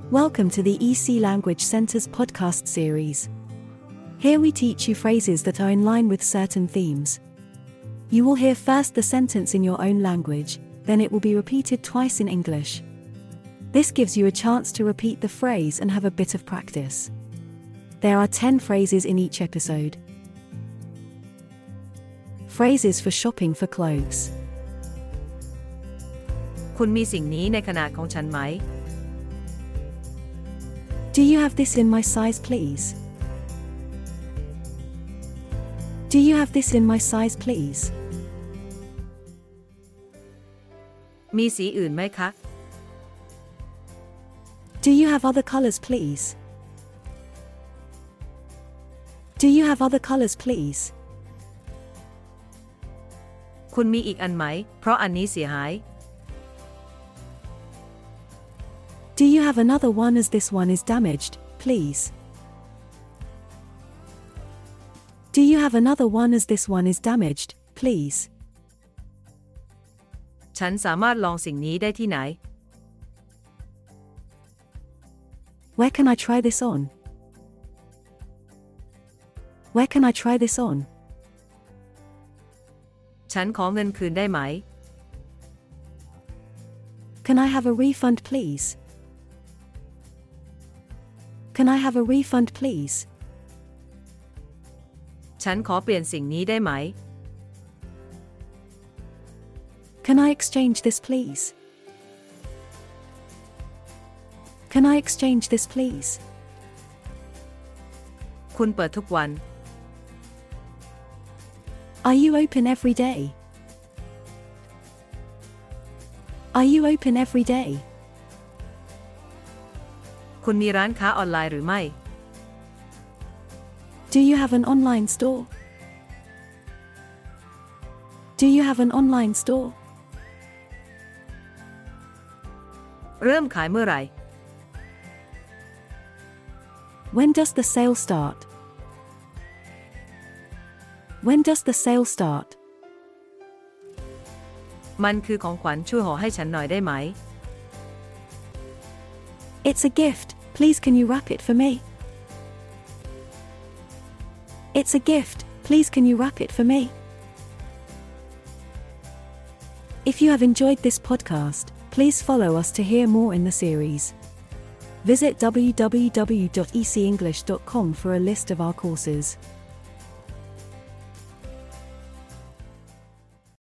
Welcome to the EC Language Center's podcast series. Here we teach you phrases that are in line with certain themes. You will hear first the sentence in your own language, then it will be repeated twice in English. This gives you a chance to repeat the phrase and have a bit of practice. There are 10 phrases in each episode. Phrases for shopping for clothes. คุณมีสิ่งนี้ในขนาดของฉันไหม Do you have this in my size, please? Do you have this in my size, please? มีสีอื่นไหมคะ Do you have other colors, please? Do you have other colors, please? คุณมีอีกอันไหม เพราะอันนี้เสียหาย Do you have another one as this one is damaged, please? Do you have another one as this one is damaged, please? ฉันสามารถลองสิ่งนี้ได้ที่ไหน Where can I try this on? Where can I try this on? ฉันขอเงินคืนได้ไหม Can I have a refund, please? Can I have a refund, please? ฉันขอเปลี่ยนสิ่งนี้ได้ไหม Can I exchange this, please? Can I exchange this, please? คุณเปิดทุกวัน Are you open every day? Are you open every day? คุณมีร้านค้าออนไลน์หรือไม่ Do you have an online store? Do you have an online store? เริ่มขายเมื่อไหร่ When does the sale start? When does the sale start? มันคือของขวัญช่วยห่อให้ฉันหน่อยได้ไหม It's a gift, please can you wrap it for me? It's a gift, please can you wrap it for me? If you have enjoyed this podcast, please follow us to hear more in the series. Visit www.ecenglish.com for a list of our courses.